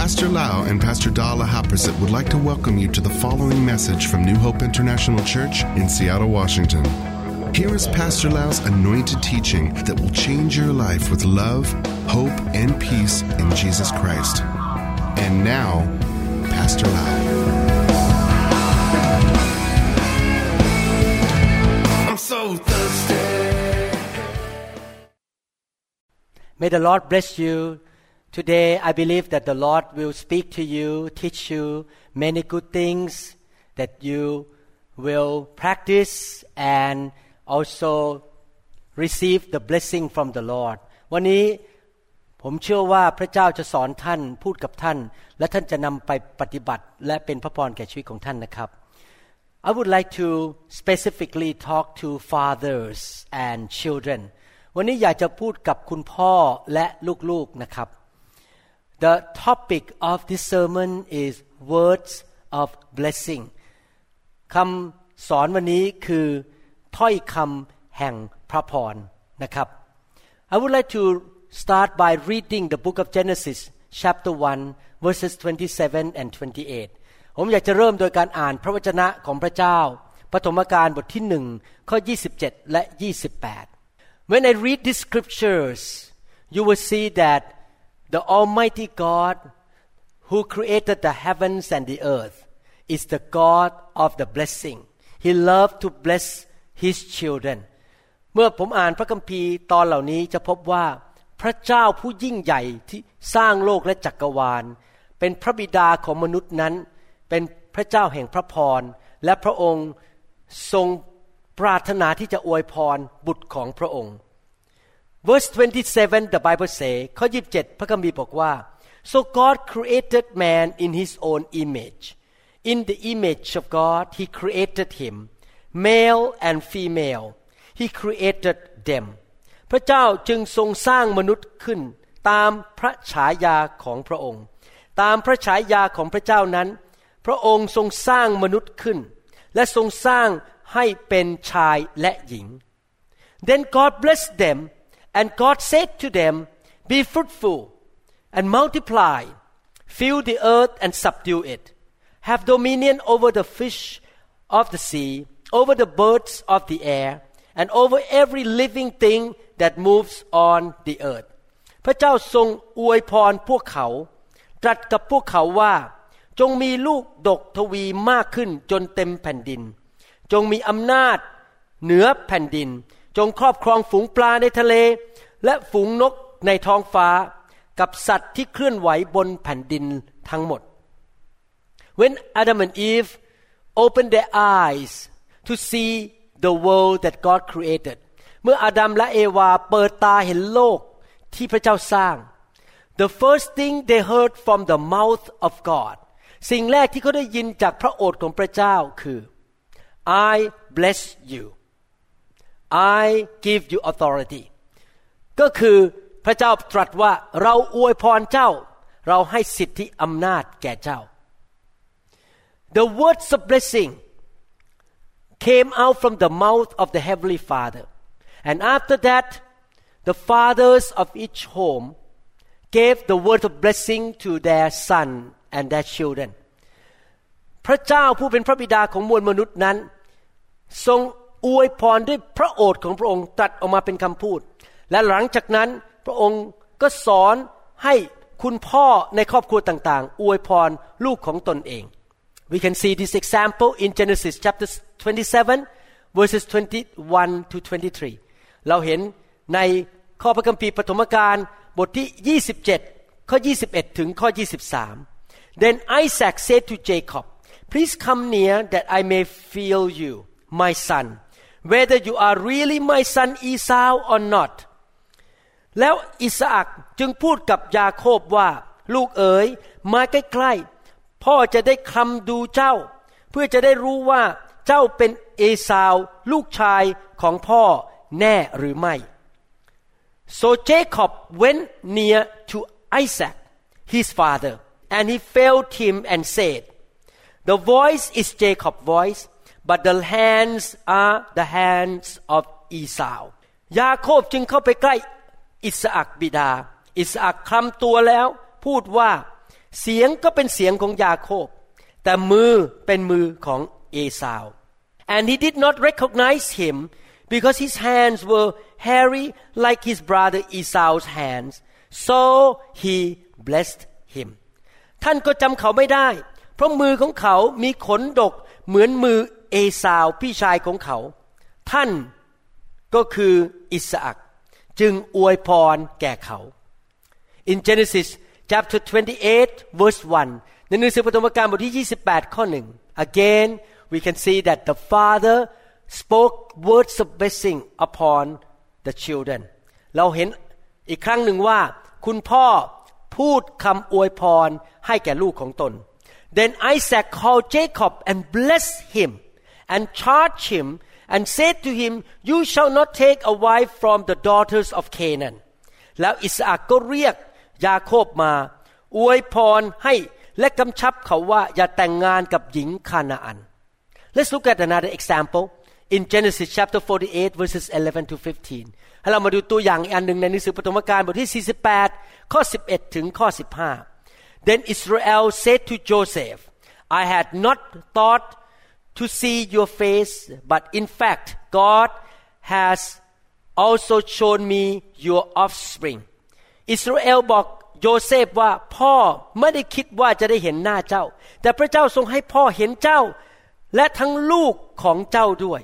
Pastor Lau and Pastor Dala Haprasit would like to welcome you to the following message from New Hope International Church in Seattle, Washington. Here is Pastor Lau's anointed teaching that will change your life with love, hope, and peace in Jesus Christ. And now, Pastor Lau. I'm so thirsty. May the Lord bless you. Today, I believe that the Lord will speak to you, teach you many good things that you will practice and also receive the blessing from the Lord. วันนี้ผมเชื่อว่าพระเจ้าจะสอนท่านพูดกับท่านและท่านจะนำไปปฏิบัติและเป็นพระพรแก่ชีวิตของท่านนะครับ I would like to specifically talk to fathers and children วันนี้อยากจะพูดกับคุณพ่อและลูกๆนะครับ The topic of this sermon is words of blessing คำสอนวันนี้คือถ้อยคำแห่งพระพรนะครับ I would like to start by reading the book of Genesis chapter 1 verses 27 and 28 ผมอยากจะเริ่มโดยการอ่านพระวจนะของพระเจ้าปฐมกาลบทที่1ข้อ27และ28 When I read these scriptures you will see that the Almighty God who created the heavens and the earth is the God of the blessing. He loved to bless His children. เมื่อผมอ่านพระคัมภีร์ตอนเหล่านี้จะพบว่าพระเจ้าผู้ยิ่งใหญ่ที่สร้างโลกและจักรวาลเป็นพระบิดาของมนุษย์นั้นเป็นพระเจ้าแห่งพระพรและพระองค์ทรงปรารถนาที่จะอวยพรบุตรของพระองค์Verse 27 the Bible say ข้อ27พระคัมภีร์บอกว่า So God created man in His own image. In the image of God He created him. Male and female He created them. พระเจ้าจึงทรงสร้างมนุษย์ขึ้นตามพระฉายาของพระองค์ตามพระฉายาของพระเจ้านั้นพระองค์ทรงสร้างมนุษย์ขึ้นและทรงสร้างให้เป็นชายและหญิง Then God blessed them.And God said to them, Be fruitful and multiply, fill the earth and subdue it. Have dominion over the fish of the sea, over the birds of the air, and over every living thing that moves on the earth. พระเจ้าทรงอวยพรพวกเขาตรัสกับพวกเขาว่าจงมีลูกดกทวีมากขึ้นจนเต็มแผ่นดินจงมีอำนาจเหนือแผ่นดินจงครอบครองฝูงปลาในทะเลและฝูงนกในท้องฟ้ากับสัตว์ที่เคลื่อนไหวบนแผ่นดินทั้งหมด When Adam and Eve opened their eyes to see the world that God created เมื่ออาดัมและเอวาเปิดตาเห็นโลกที่พระเจ้าสร้าง The first thing they heard from the mouth of God สิ่งแรกที่เขาได้ยินจากพระโอษฐ์ของพระเจ้าคือ I bless you.I give you authority ก็คือพระเจ้าตรัสว่าเราอวยพรเจ้าเราให้สิทธิอำนาจแก่เจ้า The words of blessing came out from the mouth of the Heavenly Father and after that the fathers of each home gave the word of blessing to their son and their children พระเจ้าผู้เป็นพระบิดาของมวลมนุษย์นั้นทรงอวยพรด้วยพระโอษฐ์ของพระองค์ตรัสออกมาเป็นคำพูดและหลังจากนั้นพระองค์ก็สอนให้คุณพ่อในครอบครัวต่างๆอวยพรลูกของตนเอง We can see this example in Genesis chapter 27 verses 21 to 23 เราเห็นในข้อพระคัมภีร์ปฐมกาลบทที่27ข้อ21ถึงข้อ23 Then Isaac said to Jacob Please come near that I may feel you my son,Whether you are really my son Esau or not แล้วอิสอัคจึงพูดกับยาโคบว่าลูกเอ๋ยมาใกล้ๆพ่อจะได้คลำดูเจ้าเพื่อจะได้รู้ว่าเจ้าเป็นเอสาวลูกชายของพ่อแน่หรือไม่ So Jacob went near to Isaac his father and he felt him and said The voice is Jacob's voice,But the hands are the hands of Esau ยาโคบจึงเข้าไปใกล้อิสอัคบิดาอิสอัคคลำตัวแล้วพูดว่าเสียงก็เป็นเสียงของยาโคบแต่มือเป็นมือของเอสาว and he did not recognize him because his hands were hairy like his brother Esau's hands so he blessed him ท่านก็จำเขาไม่ได้เพราะมือของเขามีขนดกเหมือนมือเอสาวพี่ชายของเขาท่านก็คืออิสอัคจึงอวยพรแก่เขา In Genesis chapter 28 verse 1 ในหนังสือปฐมกาลบทที่28ข้อ1 Again we can see that the father spoke words of blessing upon the children เราเห็นอีกครั้งหนึ่งว่าคุณพ่อพูดคำอวยพรให้แก่ลูกของตน Then Isaac called Jacob and blessed him and charged him and said to him you shall not take a wife from the daughters of Canaan แล้วอิสอัคก็เรียกยาโคบมาอวยพรให้และกำชับเขาว่าอย่าแต่งงานกับหญิงคานาอัน Let's look at another example in Genesis chapter 48 verses 11 to 15 ให้เรามาดูตัวอย่างอีกอันหนึ่งในหนังสือปฐมกาลบทที่48ข้อ11ถึงข้อ15 Then Israel said to Joseph I had not thought to see your face but in fact God has also shown me your offspring อิสราเอลบอกโยเซฟว่าพ่อไม่ได้คิดว่าจะได้เห็นหน้าเจ้าแต่พระเจ้าทรงให้พ่อเห็นเจ้าและทั้งลูกของเจ้าด้วย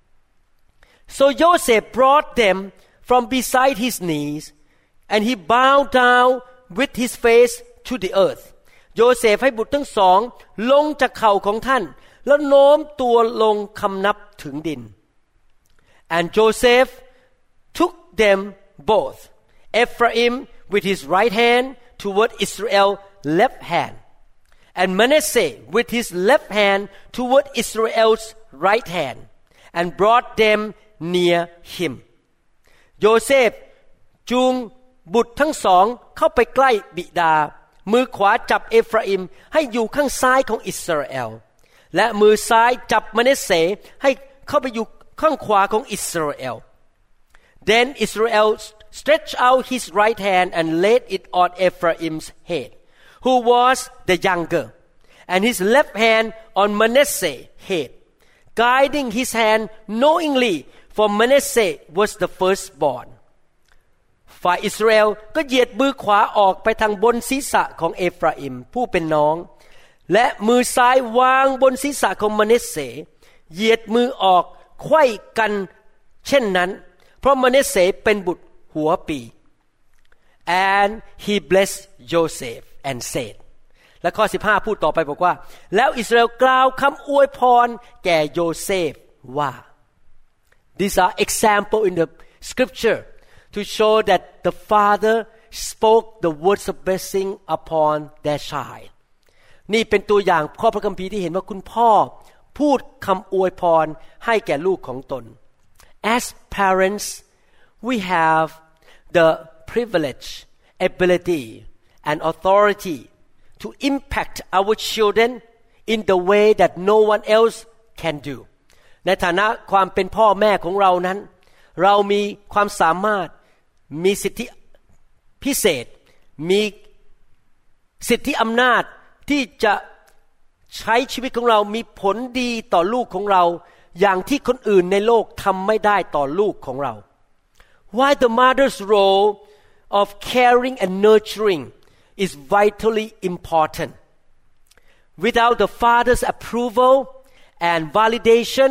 So Joseph brought them from beside his knees and he bowed down with his face to the earth โยเซฟให้บุตรทั้งสองลงจากเข่าของท่านแล้วโน้มตัวลงคำนับถึงดิน And Joseph took them both Ephraim with his right hand toward Israel's left hand and Manasseh with his left hand toward Israel's right hand and brought them near him โยเซฟจูงบุตรทั้งสองเข้าไปใกล้บิดามือขวาจับเอฟราอิมให้อยู่ข้างซ้ายของอิสราเอลและมือซ้ายจับมนาเสให้เข้าไปอยู่ข้างขวาของอิสราเอล Then Israel stretched out his right hand and laid it on Ephraim's head who was the younger and his left hand on Manasseh's head guiding his hand knowingly for Manasseh was the firstborn ฝ่ายอิสราเอลก็เหยียดมือขวาออกไปทางบนศีรษะของเอฟราอิมผู้เป็นน้องและมือซ้ายวางบนศีรษะของมนาเสเหยียดมือออกไขว้กันเช่นนั้นเพราะมนาเสเป็นบุตรหัวปี and he blessed Joseph and said และข้อ15พูดต่อไปบอกว่าแล้วอิสราเอลกล่าวคำอวยพรแก่โยเซฟว่า These are example in the scripture to show that the father spoke the words of blessing upon their child นี่เป็นตัวอย่างข้อพระคัมภีร์ที่เห็นว่าคุณพ่อพูดคำอวยพรให้แก่ลูกของตน As parents we have the privilege ability and authority to impact our children in the way that no one else can do ในฐานะความเป็นพ่อแม่ของเรานั้นเรามีความสามารถมีสิทธิพิเศษมีสิทธิอำนาจที่จะใช้ชีวิตของเรามีผลดีต่อลูกของเราอย่างที่คนอื่นในโลกทำไม่ได้ต่อลูกของเรา Why the mother's role of caring and nurturing is vitally important. Without the father's approval and validation,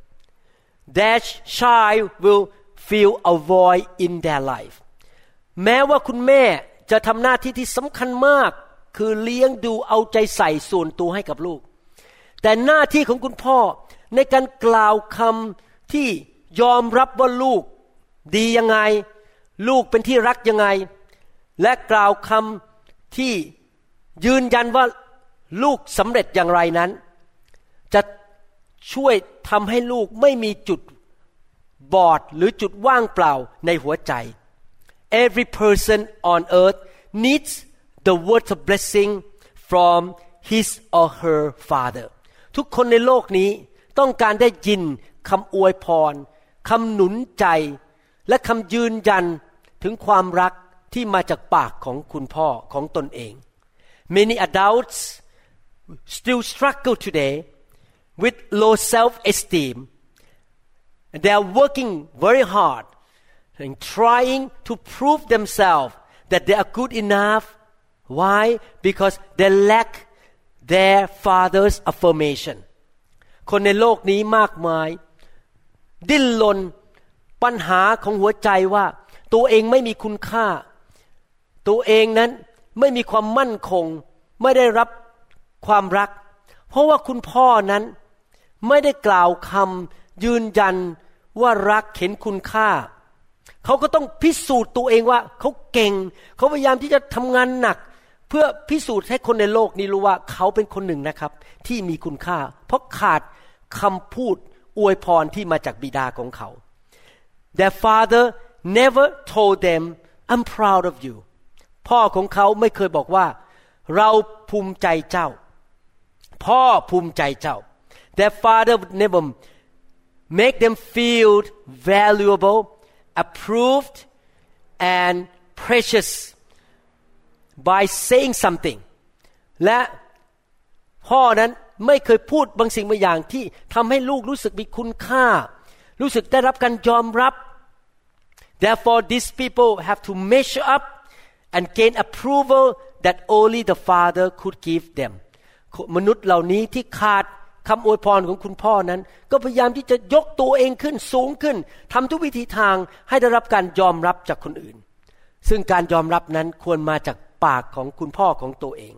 that child will feel a void in their life. แม้ว่าคุณแม่จะทำหน้าที่ที่สำคัญมากคือเลี้ยงดูเอาใจใส่ส่วนตัวให้กับลูกแต่หน้าที่ของคุณพ่อในการกล่าวคำที่ยอมรับว่าลูกดียังไงลูกเป็นที่รักยังไงและกล่าวคำที่ยืนยันว่าลูกสำเร็จอย่างไรนั้นจะช่วยทำให้ลูกไม่มีจุดบอดหรือจุดว่างเปล่าในหัวใจ Every person on earth needs the word of blessing from his or her father ทุกคนในโลกนี้ต้องการได้ยินคำอวยพรคำหนุนใจและคำยืนยันถึงความรักที่มาจากปากของคุณพ่อของตนเอง Many adults still struggle today with low self-esteem. They are working very hard and trying to prove themselves that they are good enough. Why? Because they lack their father's affirmation. คนในโลกนี้มากมายดิ้นรนปัญหาของหัวใจว่าตัวเองไม่มีคุณค่าตัวเองนั้นไม่มีความมั่นคงไม่ได้รับความรักเพราะว่าคุณพ่อนั้นไม่ได้กล่าวคำยืนยันว่ารักเห็นคุณค่าเขาก็ต้องพิสูจน์ตัวเองว่าเขาเก่งเขาพยายามที่จะทำงานหนักเพื่อพิสูจน์ให้คนในโลกนี้รู้ว่าเขาเป็นคนหนึ่งนะครับที่มีคุณค่าเพราะขาดคำพูดอวยพรที่มาจากบิดาของเขา Their father never told them I'm proud of you พ่อของเขาไม่เคยบอกว่าเราภูมิใจเจ้าพ่อภูมิใจเจ้า Their father would never make them feel valuable, approved, and precious by saying something และพ่อนั้นไม่เคยพูดบางสิ่งบางอย่างที่ทำให้ลูกรู้สึกมีคุณค่ารู้สึกได้รับการยอมรับ Therefore these people have to measure up and gain approval that only the father could give them มนุษย์เหล่านี้ที่ขาดคำอวยพรของคุณพ่อนั้นก็พยายามที่จะยกตัวเองขึ้นสูงขึ้นทำทุกวิธีทางให้ได้รับการยอมรับจากคนอื่นซึ่งการยอมรับนั้นควรมาจากปากของคุณพ่อของตัวเอง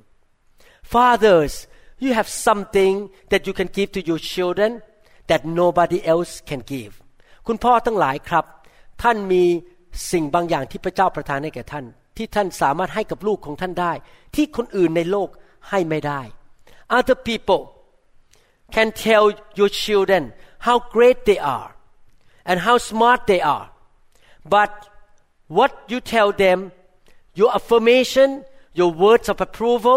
Fathers you have something that you can give to your children that nobody else can give คุณพ่อทั้งหลายครับท่านมีสิ่งบางอย่างที่พระเจ้าประทานให้แก่ท่านที่ท่านสามารถให้กับลูกของท่านได้ที่คนอื่นในโลกให้ไม่ได้ Other people can tell your children how great they are and how smart they are but what you tell them your affirmation your words of approval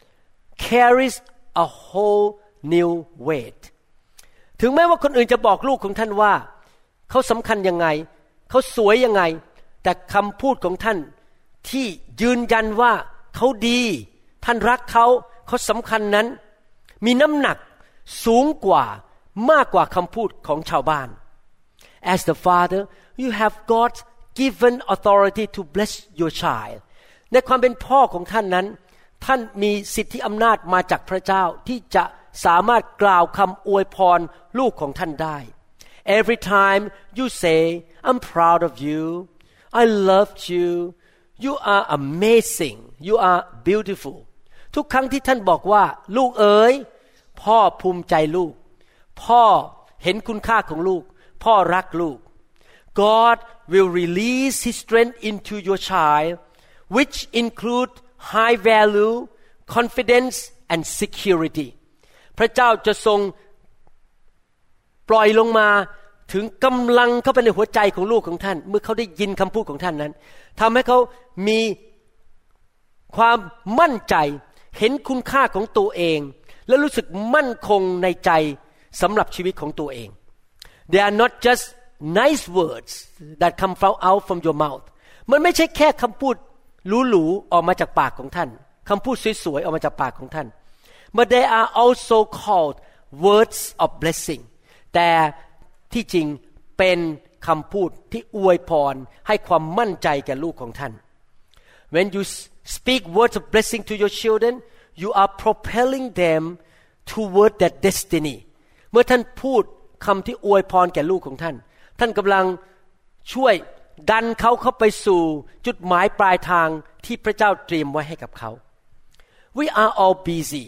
carries a whole new weight ถึงแม้ว่าคนอื่นจะบอกลูกของท่านว่าเขาสำคัญยังไงเขาสวยยังไงแต่คำพูดของท่านที่ยืนยันว่าเขาดีท่านรักเขาสำคัญนั้นมีน้ำหนักสูงกว่ามากกว่าคำพูดของชาวบ้าน As the father you have got given authority to bless your child ในความเป็นพ่อของท่านนั้นท่านมีสิทธิอำนาจมาจากพระเจ้าที่จะสามารถกล่าวคำอวยพรลูกของท่านได้ Every time you say I'm proud of you I loved you you are amazing you are beautiful ทุกครั้งที่ท่านบอกว่าลูกเอ๋ยพ่อภูมิใจลูกพ่อเห็นคุณค่าของลูกพ่อรักลูก God will release His strength into your child which include high value confidence and security พระเจ้าจะทรงปล่อยลงมาถึงกำลังเข้าไปในหัวใจของลูกของท่านเมื่อเขาได้ยินคำพูดของท่านนั้นทำให้เขามีความมั่นใจเห็นคุณค่าของตัวเองและรู้สึกมั่นคงในใจสำหรับชีวิตของตัวเอง They are not just nice words that come out from your mouth มันไม่ใช่แค่คำพูดหรูๆออกมาจากปากของท่านคำพูดสวยๆออกมาจากปากของท่าน But they are also called words of blessing แต่ที่จริงเป็นคำพูดที่อวยพรให้ความมั่นใจแก่ลูกของท่าน When you speak words of blessing to your children you are propelling them toward that destiny เมื่อท่านพูดคำที่อวยพรแก่ลูกของท่านท่านกำลังช่วยดันเขาเข้าไปสู่จุดหมายปลายทางที่พระเจ้าเตรียมไว้ให้กับเขา We are all busy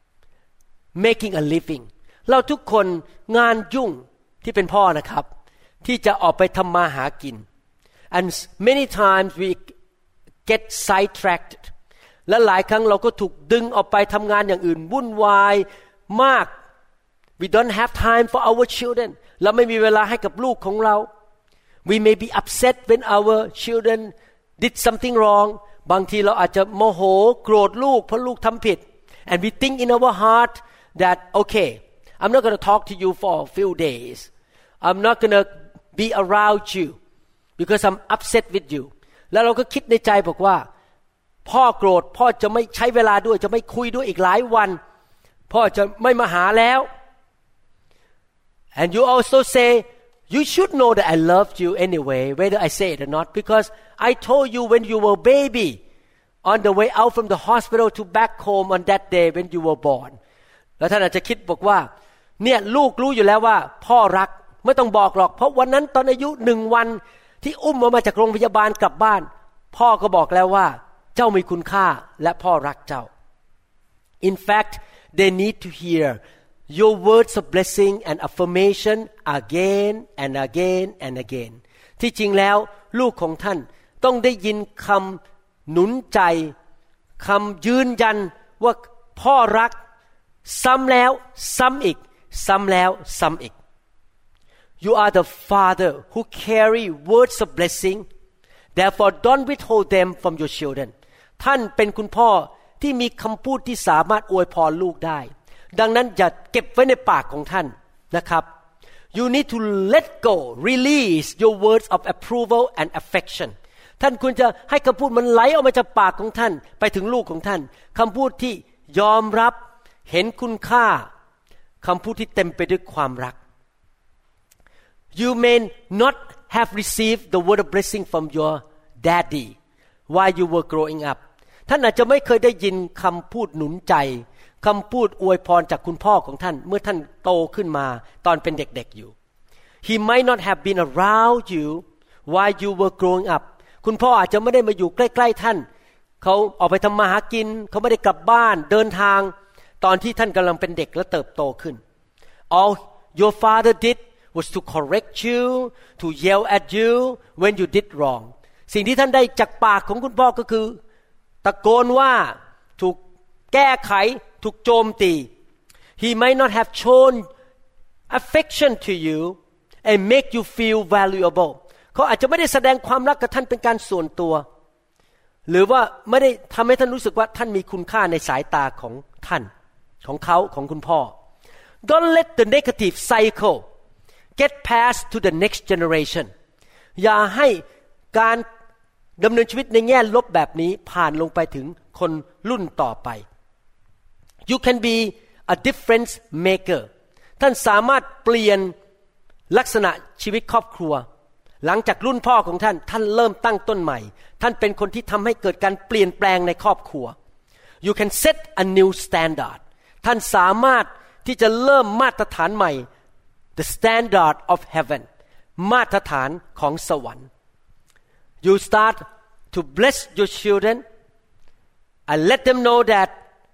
making a living เราทุกคนงานยุ่งที่เป็นพ่อนะครับที่จะออกไปทำมาหากิน and many times we get sidetracked และหลายครั้งเราก็ถูกดึงออกไปทำงานอย่างอื่นวุ่นวายมาก We don't have time for our children เราไม่มีเวลาให้กับลูกของเรา We may be upset when our children did something wrong บางทีเราอาจจะโมโหโกรธลูกเพราะลูกทำผิด and we think in our heart that okay I'm not going to talk to you for a few days I'm not going to be around you because I'm upset with you แล้วเราก็คิดในใจบอกว่าพ่อโกรธพ่อจะไม่ใช้เวลาด้วยจะไม่คุยด้วยอีกหลายวันพ่อจะไม่มาหาแล้ว and you also say you should know that I love you anyway whether I say it or not because I told you when you were baby on the way out from the hospital to back home on that day when you were born แล้วท่านอาจจะคิดบอกว่าเนี่ยลูกรู้อยู่แล้วว่าพ่อรักไม่ต้องบอกหรอกเพราะวันนั้นตอนอายุ1 วันที่อุ้มมาจากโรงพยาบาลกลับบ้านพ่อก็บอกแล้วว่าเจ้ามีคุณค่าและพ่อรักเจ้า In fact they need to hear your words of blessing and affirmation again and again and again ที่จริงแล้วลูกของท่านต้องได้ยินคำหนุนใจคำยืนยันว่าพ่อรักซ้ำแล้วซ้ำอีกซ้ำแล้วซ้ำอีก You are the father who carry words of blessing therefore don't withhold them from your children ท่านเป็นคุณพ่อที่มีคำพูดที่สามารถอวยพรลูกได้ดังนั้นอย่าเก็บไว้ในปากของท่านนะครับ You need to let go release your words of approval and affection ท่านควรจะให้คำพูดมันไหลออกมาจากปากของท่านไปถึงลูกของท่านคำพูดที่ยอมรับเห็นคุณค่าคำพูดที่เต็มไปด้วยความรัก You may not have received the word of blessing from your daddy while you were growing up ท่านอาจจะไม่เคยได้ยินคำพูดหนุนใจคำพูดอวยพรจากคุณพ่อของท่านเมื่อท่านโตขึ้นมาตอนเป็นเด็กๆอยู่ He might not have been around you while you were growing up คุณพ่ออาจจะไม่ได้มาอยู่ใกล้ๆท่านเขาออกไปทำมาหากินเขาไม่ได้กลับบ้านเดินทางตอนที่ท่านกำลังเป็นเด็กและเติบโตขึ้น All your father did was to correct you to yell at you when you did wrong สิ่งที่ท่านได้จากปากของคุณพ่อก็คือตะโกนว่าถูกแก้ไขถูกโจมตี He might not have shown affection to you and make you feel valuable เขาอาจจะไม่ได้แสดงความรักกับท่านเป็นการส่วนตัวหรือว่าไม่ได้ทำให้ท่านรู้สึกว่าท่านมีคุณค่าในสายตาของท่านของเขาของคุณพ่อ Don't let the negative cycle get passed to the next generation อย่าให้การดำเนินชีวิตในแง่ลบแบบนี้ผ่านลงไปถึงคนรุ่นต่อไป You can be a difference maker ท่านสามารถเปลี่ยนลักษณะชีวิตครอบครัวหลังจากรุ่นพ่อของท่านท่านเริ่มตั้งต้นใหม่ท่านเป็นคนที่ทำให้เกิดการเปลี่ยนแปลงในครอบครัว You can set a new standard ท่านสามารถที่จะเริ่มมาตรฐานใหม่ The standard of heaven มาตรฐานของสวรรค์ You start to bless your children and let them know that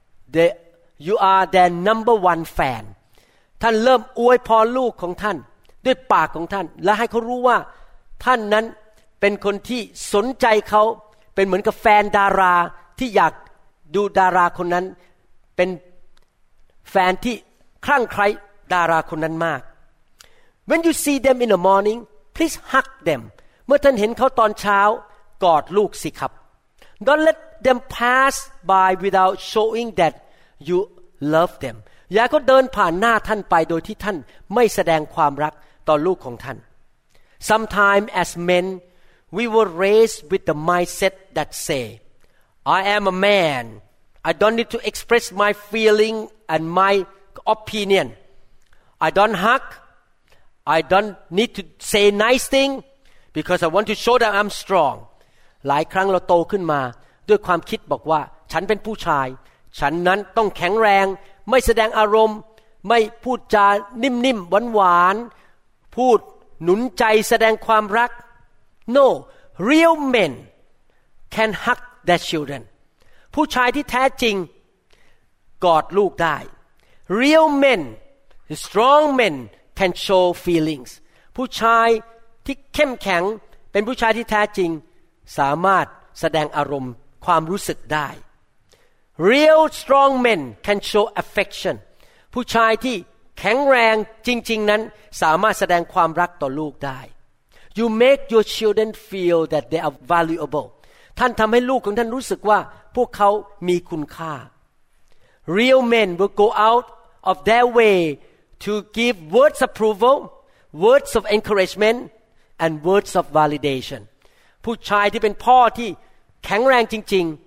you are their number one fan ท่านเริ่มอวยพรลูกของท่านด้วยปากของท่านและให้เขารู้ว่าท่านนั้นเป็นคนที่สนใจเขาเป็นเหมือนกับแฟนดาราที่อยากดูดาราคนนั้นเป็นแฟนที่คลั่งไคล้ดาราคนนั้นมาก When you see them in the morning please hug them เมื่อท่านเห็นเขาตอนเช้ากอดลูกสิครับ Don't let them pass by without showing that you love them อย่าเขาเดินผ่านหน้าท่านไปโดยที่ท่านไม่แสดงความรักต่อลูกของท่าน Sometimes as men we were raised with the mindset that say I am a man I don't need to express my feeling and my opinion I don't hug I don't need to say nice thing because I want to show that I'm strong หลายครั้งเราโตขึ้นมาด้วยความคิดบอกว่าฉันเป็นผู้ชายฉันนั้นต้องแข็งแรงไม่แสดงอารมณ์ไม่พูดจานิ่มๆหวานๆพูดหนุนใจแสดงความรัก No real men can hug their children ผู้ชายที่แท้จริงกอดลูกได้ Real men strong men can show feelings ผู้ชายที่เข้มแข็งเป็นผู้ชายที่แท้จริงสามารถแสดงอารมณ์ความรู้สึกได้ Real strong men can show affection ผู้ชายที่แข็งแรงจริงๆนั้นสามารถแสดงความรักต่อลูกได้ You make your children feel that they are valuable ท่านทำให้ลูกของท่านรู้สึกว่าพวกเขามีคุณค่า Real men will go out of their way to give words of approval words of encouragement and words of validation ผู้ชายที่เป็นพ่อที่แข็งแรงจริง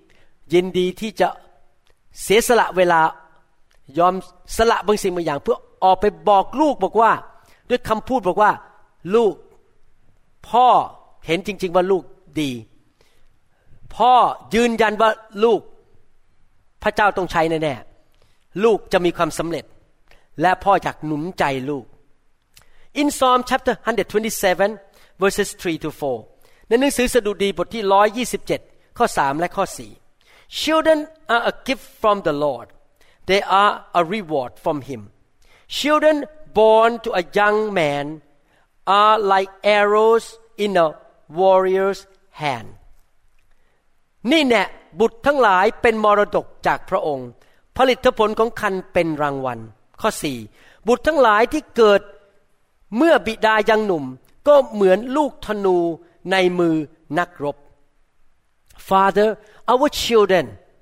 ยินดีที่จะเสียสละเวลายอมสละบางสิ่งบางอย่างเพื่อออกไปบอกลูกบอกว่าด้วยคำพูดบอกว่าลูกพ่อเห็นจริงๆว่าลูกดีพ่อยืนยันว่าลูกพระเจ้าต้องใช้แน่ๆลูกจะมีความสำเร็จและพ่ออยากหนุนใจลูก In Psalm chapter 127 verses 3 to 4 ในหนังสือสดุดีบทที่127ข้อ3และข้อ4 Children are a gift from the Lord they are a reward from him Children born to a young man are like arrows in a warrior's hand นี่แน่บุตรทั้งหลายเป็นมรดกจากพระองค์ผลิตผลของคันเป็นรางวัลข้อ4บุตรทั้งหลายที่เกิดเมื่อบิดายังหนุ่มก็เหมือนลูกธนูในมือนักรบ Father our children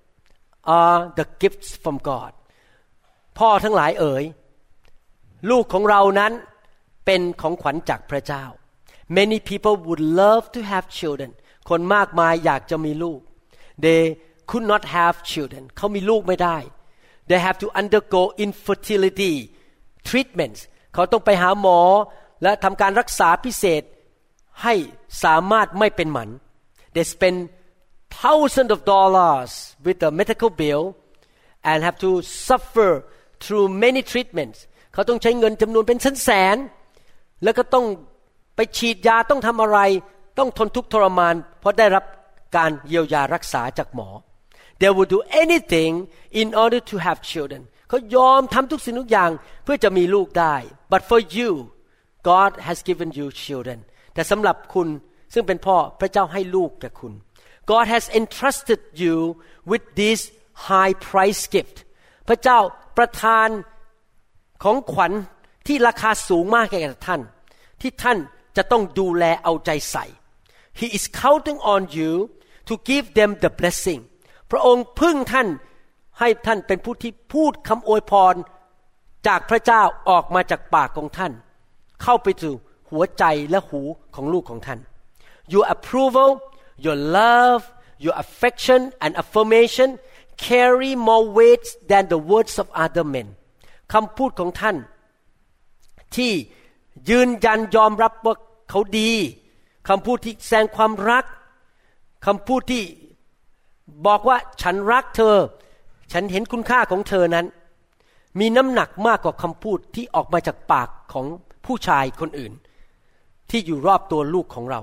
are the gifts from God พ่อทั้งหลายเอ๋ยลูกของเรานั้นเป็นของขวัญจากพระเจ้า Many people would love to have children คนมากมายอยากจะมีลูก They could not have children เขามีลูกไม่ได้ They have to undergo infertility treatments เขาต้องไปหาหมอและทำการรักษาพิเศษให้สามารถไม่เป็นหมัน They spend thousands of dollars with a medical bill and have to suffer through many treatments เขาต้องใช้เงินจำนวนเป็นแสนๆแล้วก็ต้องไปฉีดยาต้องทำอะไรต้องทนทุกข์ทรมานเพราะได้รับการเยียวยารักษาจากหมอ They would do anything in order to have children เขายอมทำทุกสิ่งทุกอย่างเพื่อจะมีลูกได้ But for you God has given you children แต่สำหรับคุณซึ่งเป็นพ่อพระเจ้าให้ลูกแก่คุณ God has entrusted you with this high price gift พระเจ้าประทานของขวัญที่ราคาสูงมากแก่ท่านที่ท่านจะต้องดูแลเอาใจใส่ He is counting on you to give them the blessing พระองค์พึ่งท่านให้ท่านเป็นผู้ที่พูดคำอวยพรจากพระเจ้าออกมาจากปากของท่านเข้าไปสู่หัวใจและหูของลูกของท่าน Your approval your love your affection and affirmation carry more weight than the words of other men คำพูดของท่านที่ยืนยันยอมรับว่าเขาดีคำพูดที่แสดงความรักคำพูดที่บอกว่าฉันรักเธอฉันเห็นคุณค่าของเธอนั้นมีน้ำหนักมากกว่าคำพูดที่ออกมาจากปากของผู้ชายคนอื่นที่อยู่รอบตัวลูกของเรา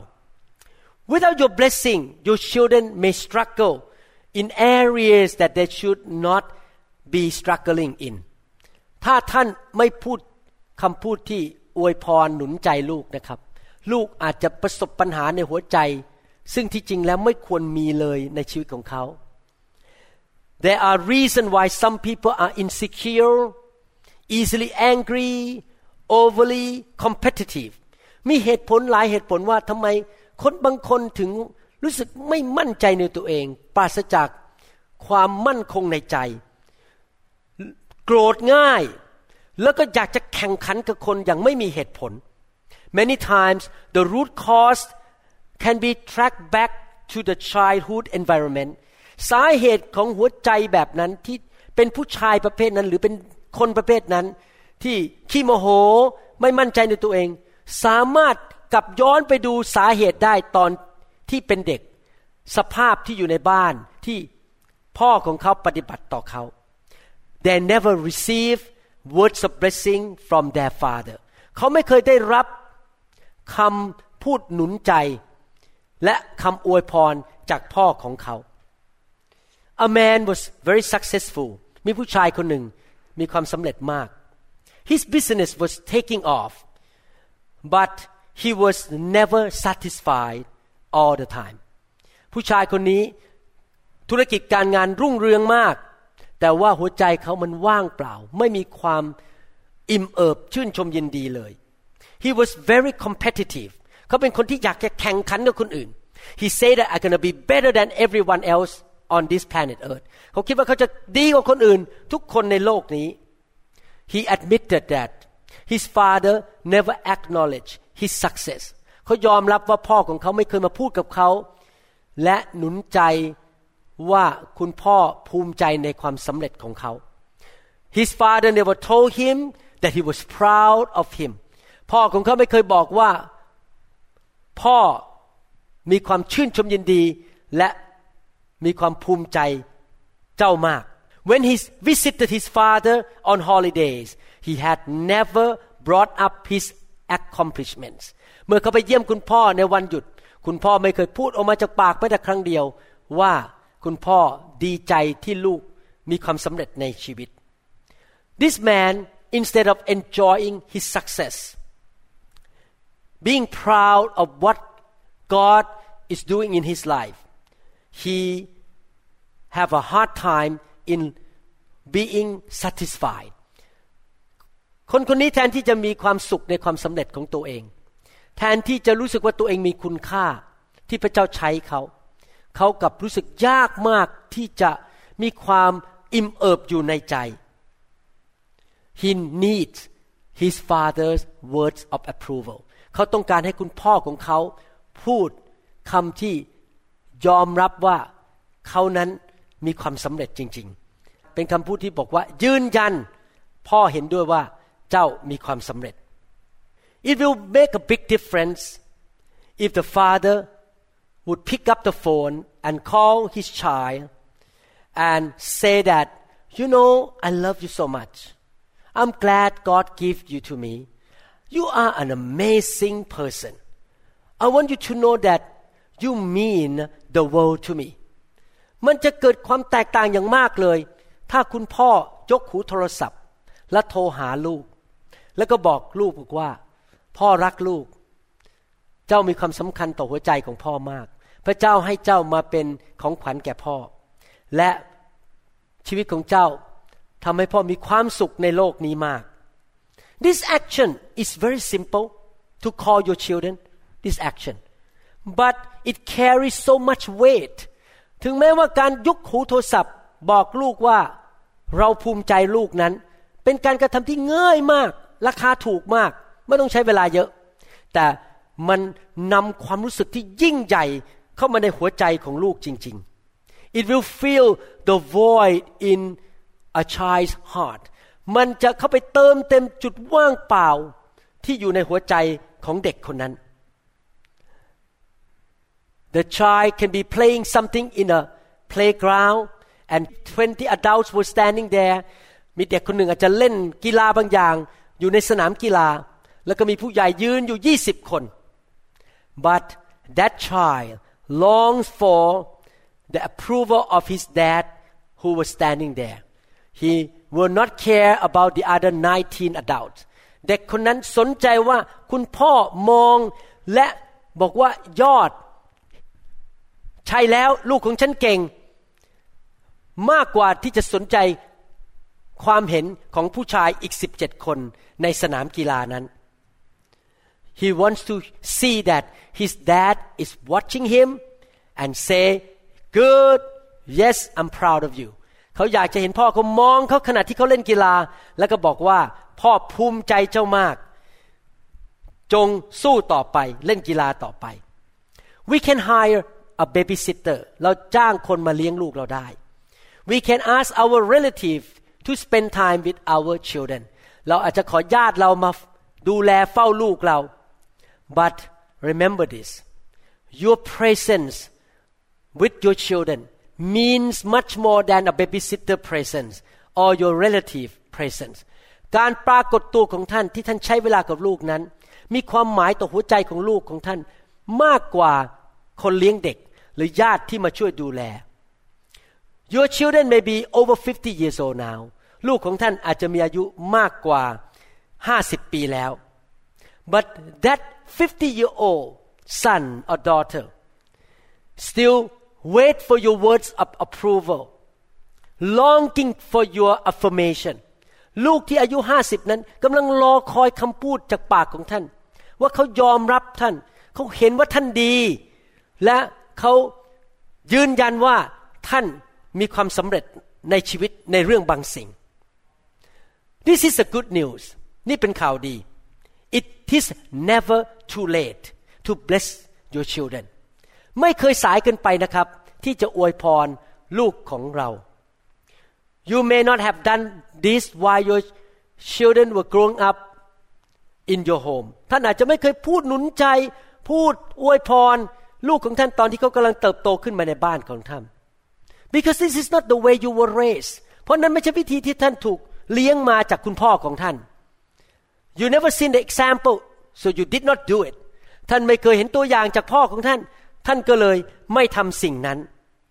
Without your blessing your children may struggle in areas that they should not be struggling in ถ้าท่านไม่พูดคำพูดที่อวยพรหนุนใจลูกนะครับลูกอาจจะประสบปัญหาในหัวใจซึ่งที่จริงแล้วไม่ควรมีเลยในชีวิตของเขา There are reasons why some people are insecure, easily angry, overly competitive มีเหตุผลหลายเหตุผลว่าทำไมคนบางคนถึงรู้สึกไม่มั่นใจในตัวเองปราศจากความมั่นคงในใจโกรธง่ายแล้วก็อยากจะแข่งขันกับคนอย่างไม่มีเหตุผล Many times the root cause can be tracked back to the childhood environment สาเหตุของหัวใจแบบนั้นที่เป็นผู้ชายประเภทนั้นหรือเป็นคนประเภทนั้นที่ขี้โมโหไม่มั่นใจในตัวเองสามารถกลับย้อนไปดูสาเหตุได้ตอนที่เป็นเด็กสภาพที่อยู่ในบ้านที่พ่อของเขาปฏิบัติต่อเขา They never receive words of blessing from their father เขาไม่เคยได้รับคำพูดหนุนใจและคำอวยพรจากพ่อของเขา A man was very successful มีผู้ชายคนหนึ่งมีความสำเร็จมาก His business was taking off but he was never satisfied all the time ผู้ชายคนนี้ธุรกิจการงานรุ่งเรืองมากแต่ว่าหัวใจเขามันว่างเปล่าไม่มีความอิ่มเอิบชื่นชมยินดีเลย He was very competitive เขาเป็นคนที่อยากจะแข่งขันกับคนอื่น He said that I'm gonna be better than everyone else on this planet Earth เขาคิดว่าเขาจะดีกว่าคนอื่นทุกคนในโลกนี้ He admitted that his father never acknowledged his success เขายอมรับว่าพ่อของเขาไม่เคยมาพูดกับเขาและหนุนใจว่าคุณพ่อภูมิใจในความสำเร็จของเขา His father never told him that he was proud of him พ่อของเขาไม่เคยบอกว่าพ่อมีความชื่นชมยินดีและมีความภูมิใจเจ้ามาก When he visited his father on holidays he had never brought up his accomplishments เมื่อเขาไปเยี่ยมคุณพ่อในวันหยุดคุณพ่อไม่เคยพูดออกมาจากปากแม้แต่ครั้งเดียวว่าคุณพ่อดีใจที่ลูกมีความสำเร็จในชีวิต This man instead of enjoying his success being proud of what God is doing in his life he have a hard time in being satisfied คนนี้แทนที่จะมีความสุขในความสำเร็จของตัวเองแทนที่จะรู้สึกว่าตัวเองมีคุณค่าที่พระเจ้าใช้เขากลับรู้สึกยากมากที่จะมีความอิ่มเอิบอยู่ในใจ He needs his father's words of approval เขาต้องการให้คุณพ่อของเขาพูดคำที่ยอมรับว่าเขานั้นมีความสำเร็จจริงๆเป็นคำพูดที่บอกว่ายืนยันพ่อเห็นด้วยว่าเจ้ามีความสำเร็จ It will make a big difference if the father would pick up the phone and call his child and say that you know I love you so much I'm glad God gave you to me you are an amazing person I want you to know that you mean the world to me มันจะเกิดความแตกต่างอย่างมากเลยถ้าคุณพ่อยกหูโทรศัพท์และโทรหาลูกแล้วก็บอกลูกว่าพ่อรักลูกเจ้ามีความสำคัญต่อหัวใจของพ่อมากพระเจ้าให้เจ้ามาเป็นของขวัญแก่พ่อและชีวิตของเจ้าทำให้พ่อมีความสุขในโลกนี้มาก This action is very simple to call your children this action but it carries so much weight ถึงแม้ว่าการยกหูโทรศัพท์บอกลูกว่าเราภูมิใจลูกนั้นเป็นการกระทำที่ง่ายมากราคาถูกมากไม่ต้องใช้เวลาเยอะแต่มันนำความรู้สึกที่ยิ่งใหญ่เข้ามาในหัวใจของลูกจริงๆ It will fill the void in a child's heart มันจะเข้าไปเติมเต็มจุดว่างเปล่าที่อยู่ในหัวใจของเด็กคนนั้น The child can be playing something in a playground and 20 adults were standing there มีเด็กคนหนึ่งอาจจะเล่นกีฬาบางอย่างอยู่ในสนามกีฬาแล้วก็มีผู้ใหญ่ยืนอยู่20คน But that child longs for the approval of his dad who was standing there he will not care about the other 19 adults เด็กคนนั้นสนใจว่าคุณพ่อมองและบอกว่ายอดใช่แล้วลูกของฉันเก่งมากกว่าที่จะสนใจความเห็นของผู้ชายอีก17คนในสนามกีฬานั้น He wants to see that his dad is watching him and say good yes I'm proud of you เขาอยากจะเห็นพ่อเขามองเขาขณะที่เขาเล่นกีฬาแล้วก็บอกว่าพ่อภูมิใจเจ้ามากจงสู้ต่อไปเล่นกีฬาต่อไป We can hire a babysitter เราจ้างคนมาเลี้ยงลูกเราได้ We can ask our relative to spend time with our children เราอาจจะขอญาติเรามาดูแลเฝ้าลูกเรา But remember this your presence with your children means much more than a babysitter presence or your relative presence การปรากฏตัวของท่านที่ท่านใช้เวลากับลูกนั้นมีความหมายต่อหัวใจของลูกของท่านมากกว่าคนเลี้ยงเด็กหรือญาติที่มาช่วยดูแล Your children may be over 50 years old now ลูกของท่านอาจจะมีอายุมากกว่า50 ปีแล้ว But that 50-year-old son or daughter still wait for your words of approval longing for your affirmation ลูกที่อายุ50นั้นกำลังรอคอยคำพูดจากปากของท่านว่าเขายอมรับท่านเขาเห็นว่าท่านดีและเขายืนยันว่าท่านมีความสำเร็จในชีวิตในเรื่องบางสิ่ง This is a good news นี่เป็นข่าวดี It is never too late to bless your children ไม่เคยสายเกินไปนะครับที่จะอวยพรลูกของเรา You may not have done this while your children were growing up in your home ท่านอาจจะไม่เคยพูดหนุนใจพูดอวยพรลูกของท่านตอนที่เขากำลังเติบโตขึ้นมาในบ้านของท่าน Because this is not the way you were raised เพราะนั้นไม่ใช่วิธีที่ท่านถูกเลี้ยงมาจากคุณพ่อของท่าน You never seen the example so you did not do it ท่านไม่เคยเห็นตัวอย่างจากพ่อของท่านท่านก็เลยไม่ทำสิ่งนั้น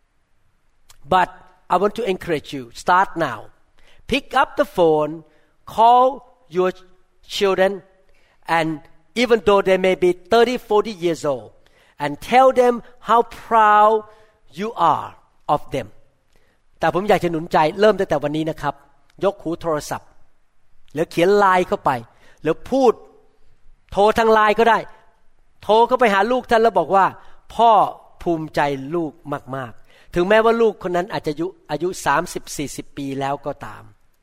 But I want to encourage you start now pick up the phone call your children and even though they may be 30-40 years old and tell them how proud you are of them แต่ผมอยากจะหนุนใจเริ่มตั้งแต่วันนี้นะครับยกหูโทรศัพท์หรือเขียนไลน์เข้าไปหรือพูดโทรทางไลน์ก็ได้โทรเข้าไปหาลูกท่านแล้วบอกว่าพ่อภูมิใจลูกมากๆถึงแม้ว่าลูกคนนั้นอาจจะอายุ 30-40 ปีแล้วก็ตาม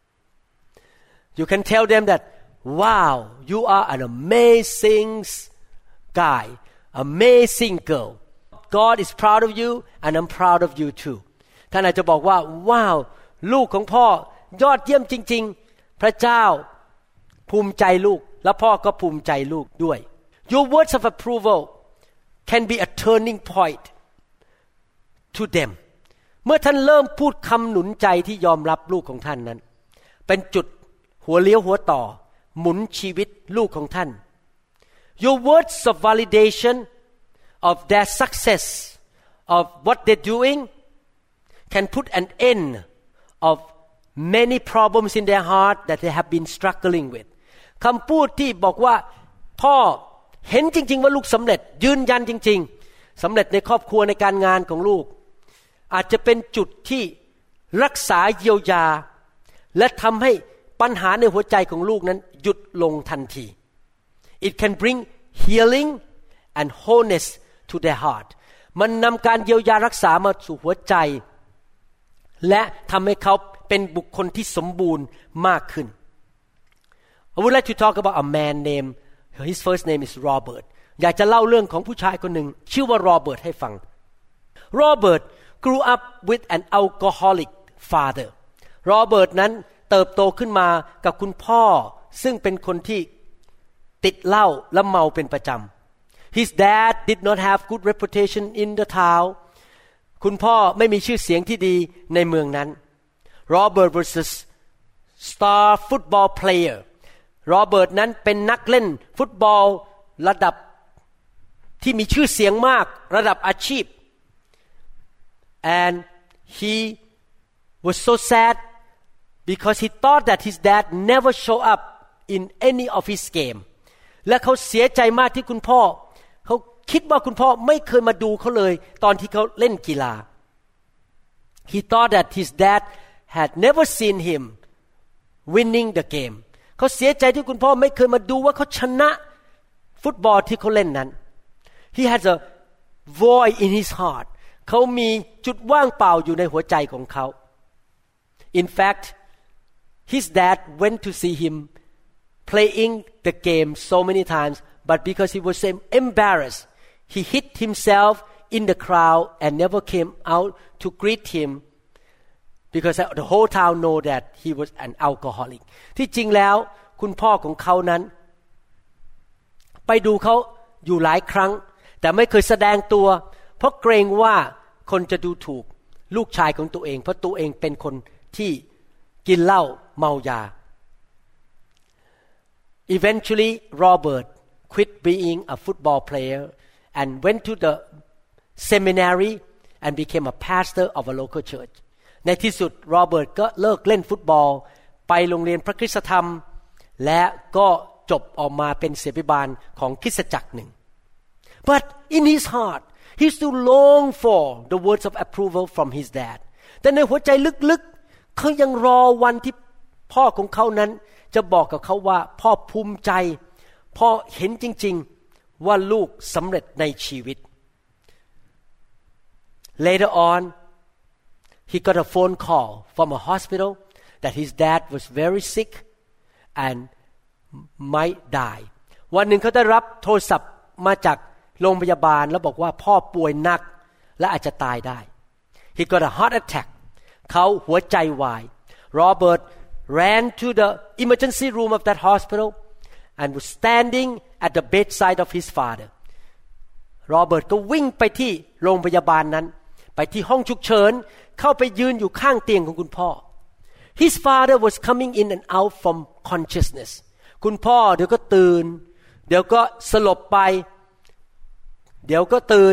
You can tell them that wow you are an amazing guy amazing girl God is proud of you and I'm proud of you too ท่านอาจจะบอกว่าว้าวลูกของพ่อยอดเยี่ยมจริงๆพระเจ้าภูมิใจลูกและพ่อก็ภูมิใจลูกด้วย Your words of approval can be a turning point to them เมื่อท่านเริ่มพูดคำหนุนใจที่ยอมรับลูกของท่านนั้นเป็นจุดหัวเลี้ยวหัวต่อหมุนชีวิตลูกของท่าน Your words of validation of their success of what they're doing can put an end of many problems in their heart that they have been struggling with คำพูดที่บอกว่าพ่อเห็นจริงๆว่าลูกสำเร็จยืนยันจริงๆสำเร็จในครอบครัวในการงานของลูกอาจจะเป็นจุดที่รักษาเยียวยาและทำให้ปัญหาในหัวใจของลูกนั้นหยุดลงทันที It can bring healing and wholeness to their heart มันนำการเยียวยารักษามาสู่หัวใจและทำให้เขาเป็นบุคคลที่สมบูรณ์มากขึ้น I would like to talk about a man named his first name is Robert อยากจะเล่าเรื่องของผู้ชายคนหนึ่งชื่อว่าโรเบิร์ตให้ฟัง Robert grew up with an alcoholic father โรเบิร์ตนั้นเติบโตขึ้นมากับคุณพ่อซึ่งเป็นคนที่ติดเหล้าและเมาเป็นประจำ His dad did not have good reputation in the town คุณพ่อไม่มีชื่อเสียงที่ดีในเมืองนั้น Robert was a star football player โรเบิร์ตนั้นเป็นนักเล่นฟุตบอลระดับที่มีชื่อเสียงมากระดับอาชีพ and he was so sad because he thought that his dad never show up in any of his game และเขาเสียใจมากที่คุณพ่อเขาคิดว่าคุณพ่อไม่เคยมาดูเขาเลยตอนที่เขาเล่นกีฬา He thought that his dad had never seen him winning the game เขาเสียใจที่คุณพ่อไม่เคยมาดูว่าเขาชนะฟุตบอลที่เขาเล่นนั้น He has a void in his heart เขามีจุดว่างเปล่าอยู่ในหัวใจของเขา In fact his dad went to see him playing the game so many times but because he was embarrassed he hid himself in the crowd and never came out to greet him because the whole town know that he was an alcoholic ที่จริงแล้วคุณพ่อของเขานั้นไปดูเขาอยู่หลายครั้งแต่ไม่เคยแสดงตัวเพราะเกรงว่าคนจะดูถูกลูกชายของตัวเองเพราะตัวเองเป็นคนที่กินเหล้าเมายา Eventually Robert quit being a football player and went to the seminary and became a pastor of a local church ในที่สุดโรเบิร์ตก็เลิกเล่นฟุตบอลไปโรงเรียนพระคริสตธรรมและก็จบออกมาเป็นศิษยาภิบาลของคริสตจักรหนึ่ง But in his heart he still longed for the words of approval from his dad แต่ในหัวใจลึกๆเขายังรอวันที่พ่อของเขานั้นจะบอกกับเขาว่าพ่อภูมิใจพ่อเห็นจริงๆว่าลูกสำเร็จในชีวิต Later on he got a phone call from a hospital that his dad was very sick and might die วันหนึ่งเขาได้รับโทรศัพท์มาจากโรงพยาบาลแล้วบอกว่าพ่อป่วยหนักและอาจจะตายได้ he got a heart attack เขาหัวใจวาย Robert ran to the emergency room of that hospital and was standing at the bedside of his father Robert ก็วิ่งไปที่โรงพยาบาลนั้นไปที่ห้องฉุกเฉินเข้าไปยืนอยู่ข้างเตียงของคุณพ่อ His father was coming in and out from consciousness คุณพ่อเดี๋ยวก็ตื่นเดี๋ยวก็สลบไปเดี๋ยวก็ตื่น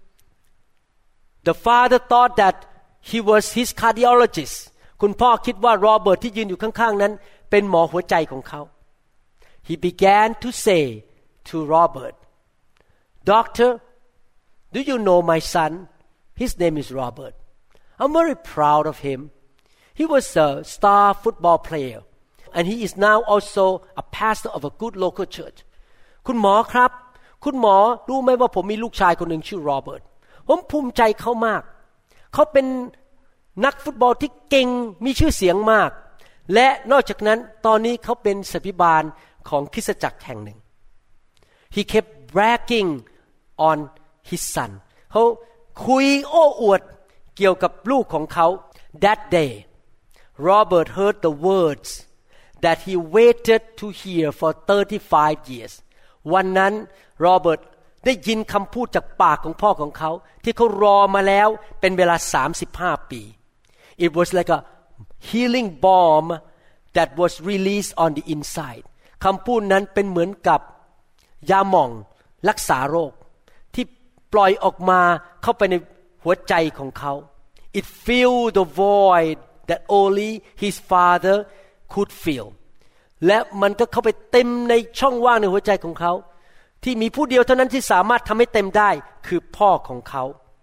The father thought that he was his cardiologist คุณพ่อคิดว่าโรเบิร์ตที่ยืนอยู่ข้างๆนั้นเป็นหมอหัวใจของเขา He began to say to Robert Doctor do you know my son his name is Robert I'm very proud of him he was a star football player and he is now also a pastor of a good local church คุณหมอครับคุณหมอรู้ไหมว่าผมมีลูกชายคนหนึ่งชื่อโรเบิร์ตผมภูมิใจเขามากเขาเป็นนักฟุตบอลที่เก่งมีชื่อเสียงมากและนอกจากนั้นตอนนี้เขาเป็นศิษยาบาลของคริสตจักรแห่งหนึ่ง He kept bragging on his son เขาคุยโอ้อวดเกี่ยวกับลูกของเขา That day Robert heard the words that he waited to hear for 35 years วันนั้นโรเบิร์ตได้ยินคำพูดจากปากของพ่อของเขาที่เขารอมาแล้วเป็นเวลา35 ปี It was like a healing balm that was released on the inside คำพูดนั้นเป็นเหมือนกับยาหม่องรักษาโรคที่ปล่อยออกมาเข้าไปในหัวใจของเขา It filled the void that only his father could fill และมันก็เข้าไปเต็มในช่องว่างในหัวใจของเขาที่มีผู้เดียวเท่านั้นที่สามารถทำให้เต็มได้คือพ่อของเขา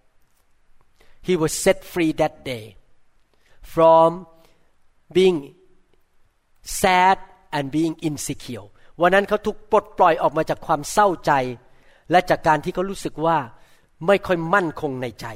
He was set free that day from being sad and being insecure วันนั้นเขาถูกปลดปล่อยออกมาจากความเศร้าใจและจากการที่เขารู้สึกว่าไม่ค่อยมั่นคงในใจ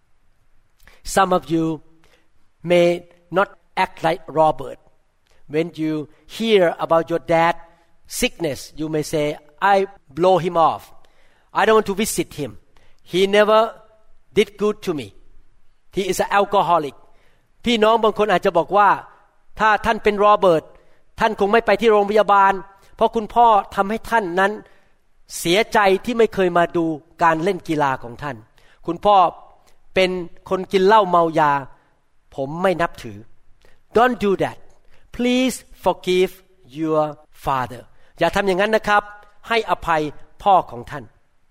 Some of you may not act like Robert when you hear about your dad's sickness you may say I blow him off I don't want to visit him he never did good to me he is an alcoholic พี่น้องบางคนอาจจะบอกว่าถ้าท่านเป็นโรเบิร์ตท่านคงไม่ไปที่โรงพยาบาลเพราะคุณพ่อทำให้ท่านนั้นเสียใจที่ไม่เคยมาดูการเล่นกีฬาของท่านคุณพ่อเป็นคนกินเหล้าเมายาผมไม่นับถือ Don't do that please forgive your father อย่าทำอย่างนั้นนะครับให้อภัยพ่อของท่าน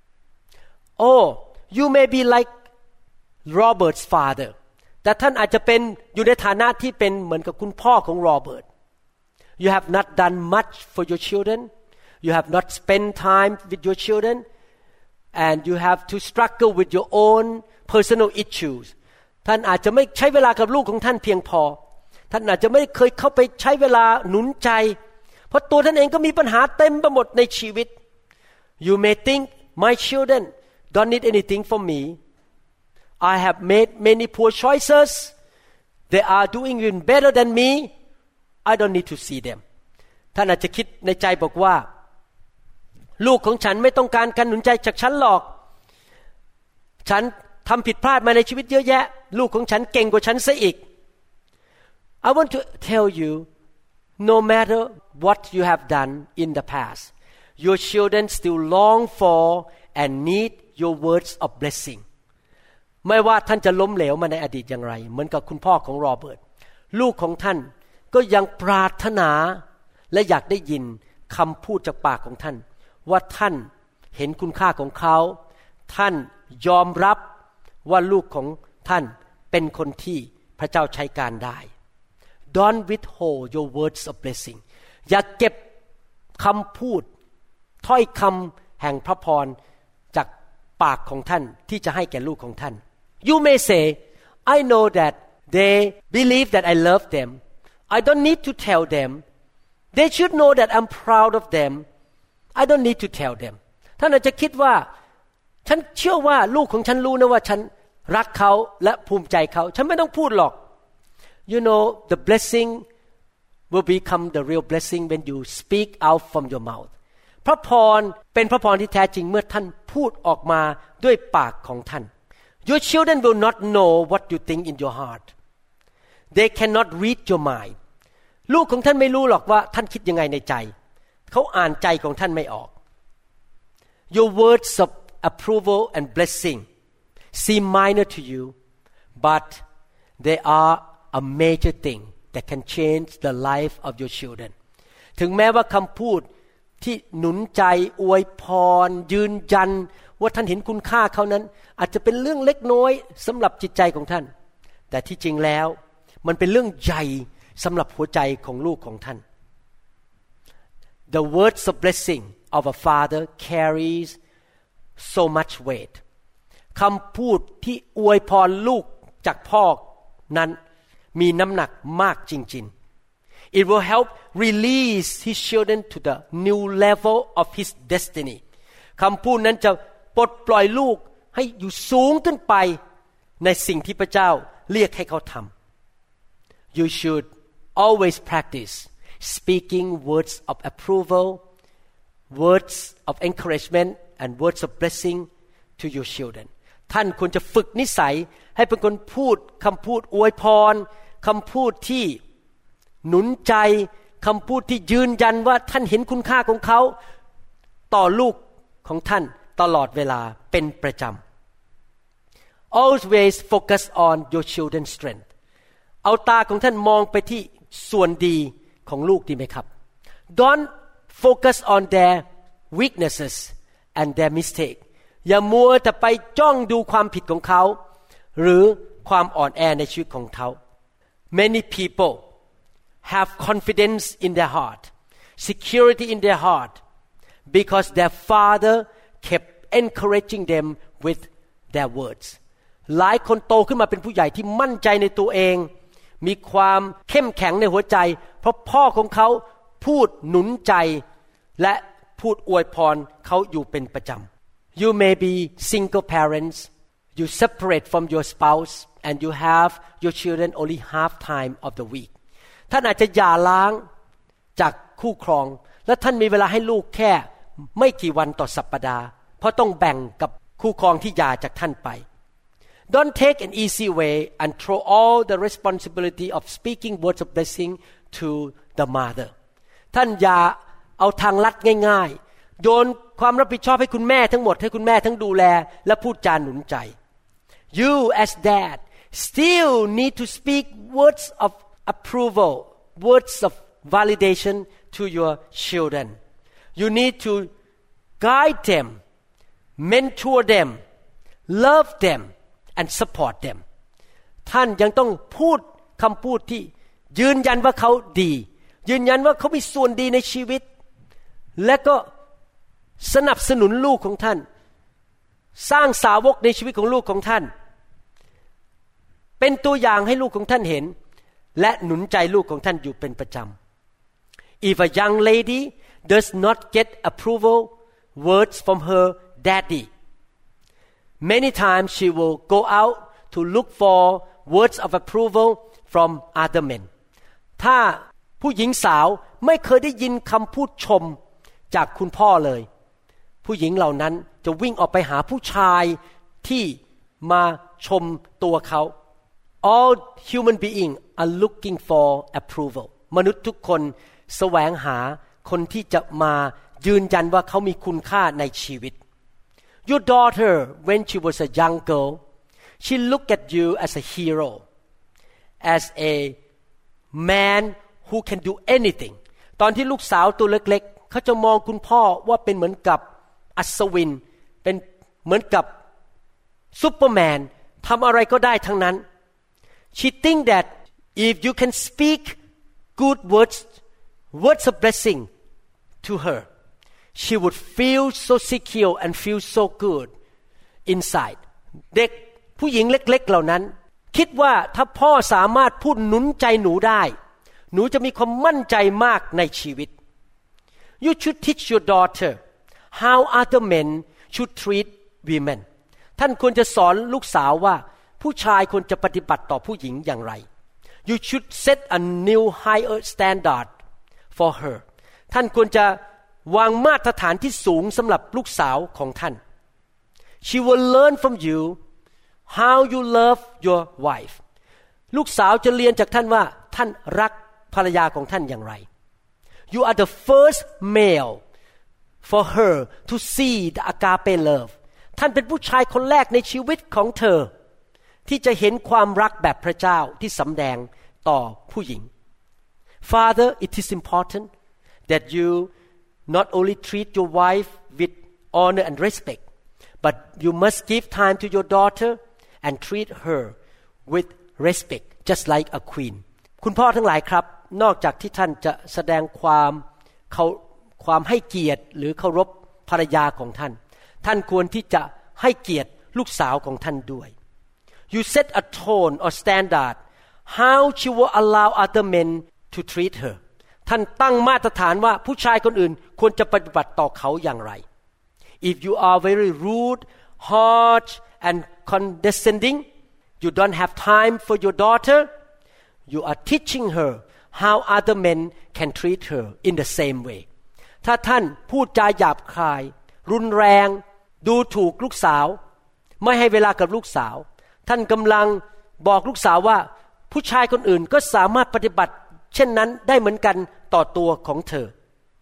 Oh you may be like Robert's father แต่ท่านอาจจะเป็นอยู่ในฐานะที่เป็นเหมือนกับคุณพ่อของโรเบิร์ต You have not done much for your children you have not spent time with your children and you have to struggle with your own personal issues ท่านอาจจะไม่ใช้เวลากับลูกของท่านเพียงพอท่านอาจจะไม่เคยเข้าไปใช้เวลาหนุนใจเพราะตัวท่านเองก็มีปัญหาเต็มไปหมดในชีวิต You may think my children don't need anything from me I have made many poor choices they are doing even better than me I don't need to see them ท่านอาจจะคิดในใจบอกว่าลูกของฉันไม่ต้องการการหนุนใจจากฉันหรอกฉันทำผิดพลาดมาในชีวิตเยอะแยะลูกของฉันเก่งกว่าฉันซะอีก I want to tell you no matter what you have done in the past your children still long for and need your words of blessing ไม่ว่าท่านจะล้มเหลวมาในอดีตอย่างไรเหมือนกับคุณพ่อของโรเบิร์ตลูกของท่านก็ยังปรารถนาและอยากได้ยินคำพูดจากปากของท่านว่าท่านเห็นคุณค่าของเขาท่านยอมรับว่าลูกของท่านเป็นคนที่พระเจ้าใช้การได้ Don't withhold your words of blessing อย่าเก็บคำพูดถ้อยคำแห่งพระพรจากปากของท่านที่จะให้แก่ลูกของท่าน You may say I know that they believe that I love them I don't need to tell them they should know that I'm proud of them I don't need to tell them ท่านอาจจะคิดว่าฉันเชื่อว่าลูกของฉันรู้นะว่าฉันรักเขาและภูมิใจเขาฉันไม่ต้องพูดหรอก You know the blessing will become the real blessing when you speak out from your mouth พระพรเป็นพระพรที่แท้จริงเมื่อท่านพูดออกมาด้วยปากของท่าน Your children will not know what you think in your heart. They cannot read your mind. ลูกของท่านไม่รู้หรอกว่าท่านคิดยังไงในใจเขาอ่านใจของท่านไม่ออก Your words of approval and blessing seem minor to you, but they are a major thing that can change the life of your children. ถึงแม้ว่าคำพูดที่หนุนใจอวยพรยืนยันว่าท่านเห็นคุณค่าเขานั้นอาจจะเป็นเรื่องเล็กน้อยสำหรับจิตใจของท่านแต่ที่จริงแล้วมันเป็นเรื่องใหญ่สำหรับหัวใจของลูกของท่าน The words of blessing of a father carries so much weight คำพูดที่อวยพรลูกจากพ่อนั้นมีน้ำหนักมากจริงๆ It will help release his children to the new level of his destiny คำพูดนั้นจะปลดปล่อยลูกให้อยู่สูงขึ้นไปในสิ่งที่พระเจ้าเรียกให้เขาทำ You should always practice speaking words of approval, words of encouragement, and words of blessing to your children. ท่านควรจะฝึกนิสัยให้เป็นคนพูดคำพูดอวยพรคำพูดที่หนุนใจคำพูดที่ยืนยันว่าท่านเห็นคุณค่าของเขาต่อลูกของท่านตลอดเวลาเป็นประจำ Always focus on your children's strength เอาตาของท่านมองไปที่ส่วนดีของลูกดีไหมครับ Don't focus on their weaknesses and their mistake อย่ามัวแต่ไปจ้องดูความผิดของเขาหรือความอ่อนแอในชีวิตของเขา Many people have confidence in their heart, security in their heart, because their father kept encouraging them with their words. หลายคนโตขึ้นมาเป็นผู้ใหญ่ที่มั่นใจในตัวเองมีความเข้มแข็งในหัวใจเพราะพ่อของเขาพูดหนุนใจและพูดอวยพรเขาอยู่เป็นประจำ You may be single parents, you separate from your spouse, and you have your children only half time of the week. ท่านอาจจะหย่าร้างจากคู่ครองและท่านมีเวลาให้ลูกแค่ไม่กี่วันต่อสัปดาห์เพราะต้องแบ่งกับคู่ครองที่หย่าจากท่านไป Don't take an easy way and throw all the responsibility of speaking words of blessing to the mother ท่านอย่าเอาทางลัดง่ายๆโยนความรับผิดชอบให้คุณแม่ทั้งหมดให้คุณแม่ทั้งดูแลและพูดจาหนุนใจ You as dad still need to speak words of approval, words of validation to your children. You need to guide them, mentor them, love them, and support them. ท่านยังต้องพูดคำพูดที่ยืนยันว่าเขาดียืนยันว่าเขามีส่วนดีในชีวิตและก็สนับสนุนลูกของท่านสร้างสาวกในชีวิตของลูกของท่านเป็นตัวอย่างให้ลูกของท่านเห็นและหนุนใจลูกของท่านอยู่เป็นประจำ If a young lady does not get approval words from her daddy, many times she will go out to look for words of approval from other men. ถ้าผู้หญิงสาวไม่เคยได้ยินคำพูดชมจากคุณพ่อเลยผู้หญิงเหล่านั้นจะวิ่งออกไปหาผู้ชายที่มาชมตัวเขา All human beings are looking for approval มนุษย์ทุกคนแสวงหาคนที่จะมายืนยันว่าเขามีคุณค่าในชีวิต Your daughter when she was a young girl she looked at you as a hero as a man who can do anything ตอนที่ลูกสาวตัวเล็กๆเขาจะมองคุณพ่อว่าเป็นเหมือนกับอัศวินเป็นเหมือนกับซุปเปอร์แมนทำอะไรก็ได้ทั้งนั้น She think that if you can speak good words of blessing to her she would feel so secure and feel so good inside เด็กผู้หญิงเล็กๆเหล่านั้นคิดว่าถ้าพ่อสามารถพูดหนุนใจหนูได้หนูจะมีความมั่นใจมากในชีวิต You should teach your daughter how other men should treat women ท่านควรจะสอนลูกสาวว่าผู้ชายควรจะปฏิบัติต่อผู้หญิงอย่างไร You should set a new higher standard for her ท่านควรจะวางมาตรฐานที่สูงสำหรับลูกสาวของท่าน She will learn from you how you love your wife ลูกสาวจะเรียนจากท่านว่าท่านรักภรรยาของท่านอย่างไร You are the first male for her to see the agape love ท่านเป็นผู้ชายคนแรกในชีวิตของเธอที่จะเห็นความรักแบบพระเจ้าที่สำแดงต่อผู้หญิง Father, it is important that you not only treat your wife with honor and respect, but you must give time to your daughter and treat her with respect, just like a queen. คุณพ่อทั้งหลายครับนอกจากที่ท่านจะแสดงความให้เกียรติหรือเคารพภรรยาของท่านท่านควรที่จะให้เกียรติลูกสาวของท่านด้วย You set a tone or standard how she will allow other men to treat her ท่านตั้งมาตรฐานว่าผู้ชายคนอื่นควรจะปฏิบัติต่อเขาอย่างไร If you are very rude, harsh and condescending, you don't have time for your daughter, you are teaching her how other men can treat her in the same way ถ้าท่านพูดจาหยาบคายรุนแรงดูถูกลูกสาวไม่ให้เวลากับลูกสาวท่านกำลังบอกลูกสาวว่าผู้ชายคนอื่นก็สามารถปฏิบัติเช่นนั้นได้เหมือนกันต่อตัวของเธอ